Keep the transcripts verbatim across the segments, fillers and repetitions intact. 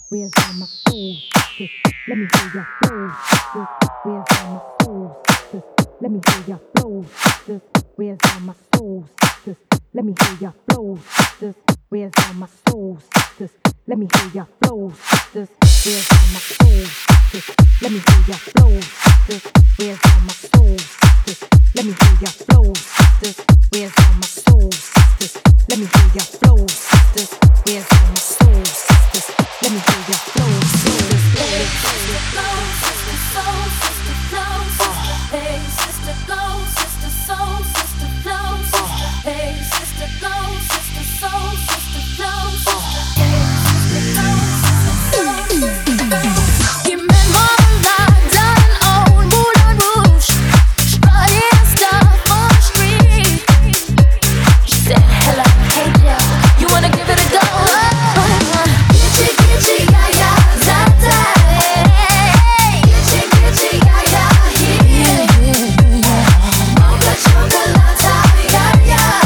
Where's all my soul sisters? Let me hear your flow sisters. Where's all my soul sisters? Let me hear your flow sisters. Where's all my soul sisters? Let me hear your flow sisters. Where's all my soul sisters? Let me hear your flow sisters. Where's all my soul sisters? Let me hear your flow sisters. Where's all my soul sisters? Let me hear your flow sisters. Where's all my soul sisters? Let me hear your flow sisters. Where's all my soul sisters? Let me hear your flow sisters. Sister flow, sister soul, sister flow, sister hey, sister glow, sister soul, sister flow, sister hey, sister glow, sister soul, sister flow, sister hey, sister glow, sister soul, sister flow. You met Marmalade on old Moulin Rouge, strutting stuff on the street. She said, hello, hey Joe, you wanna give it a go? Gitchy, gitchy, yeah, yeah, da, da. Gitchy, gitchy, yeah, yeah, yeah. Mocha chocolate, yeah, yeah.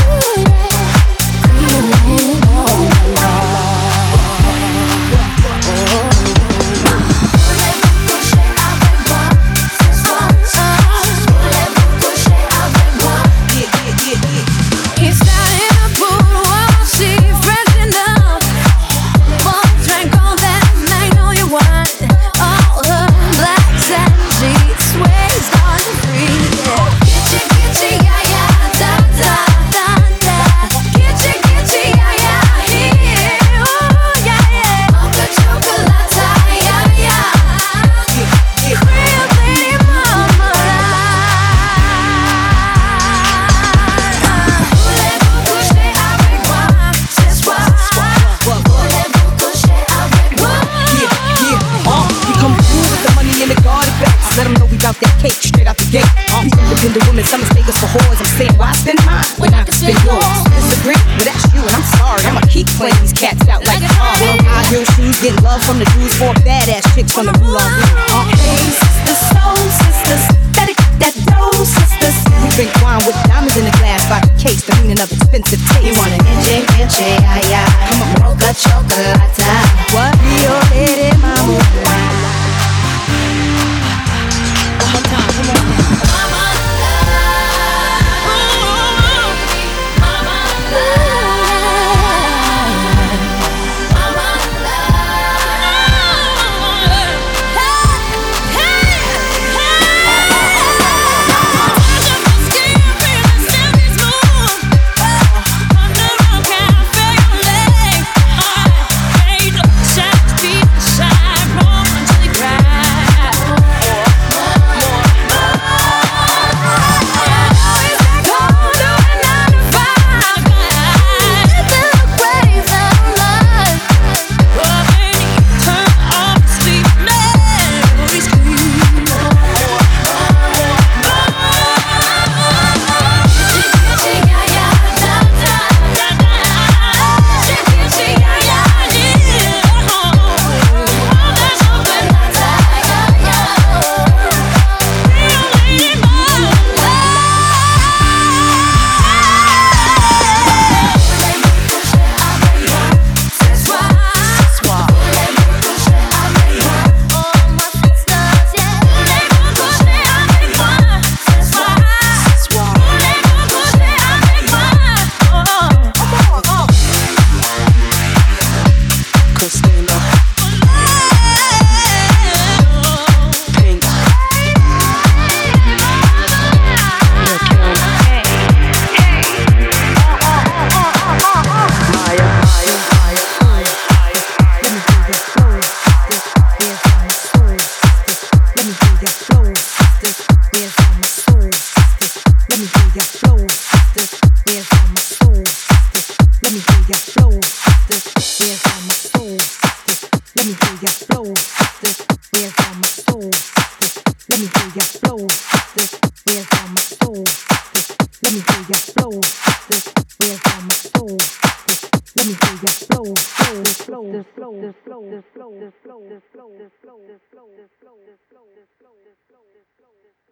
Voulez-vous coucher avec moi ce soir? Voulez-vous coucher avec moi? It's not in the pool, oh, she fresh enough. One drink on that night, know you want all the blacks and sheets, waves on the free. Gitchy, gitchy, yeah, yeah, da, da, da, da. Gitchy, gitchy, yeah, yeah, yeah, oh, yeah, yeah. Mocha chocolate, yeah, yeah. Real lady marmalade. Voulez-vous coucher avec moi ce soir? Voulez-vous coucher avec moi? Yeah, yeah, uh, you come through with the money in the garden bags. Let them know we bout that cake straight out the gate. Uh, these independent women, some mistake us for whores. I'm saying, why spend mine when I can spend yours? Disagree? Well, that's you, and I'm sorry. I'ma keep playing these cats out like uh, high heel shoes, get love from the dudes, four badass chicks from the Moulin Rouge. Uh, Hey, sisters, soul sisters, better get that dough, sisters. we drink wine with diamonds in the glass by the case, the meaning of expensive taste. You want an inche, inche, ay, ay. Come on, Mocha chocolate. what? Rio lady mama. One more time, come on. Mama love, mama love, mama love. Hey, hey, hey. Touch of my skin, feel the silky smooth. Under a cafe on lake. Hey, the shadows deep inside, roll until they cry. Flow,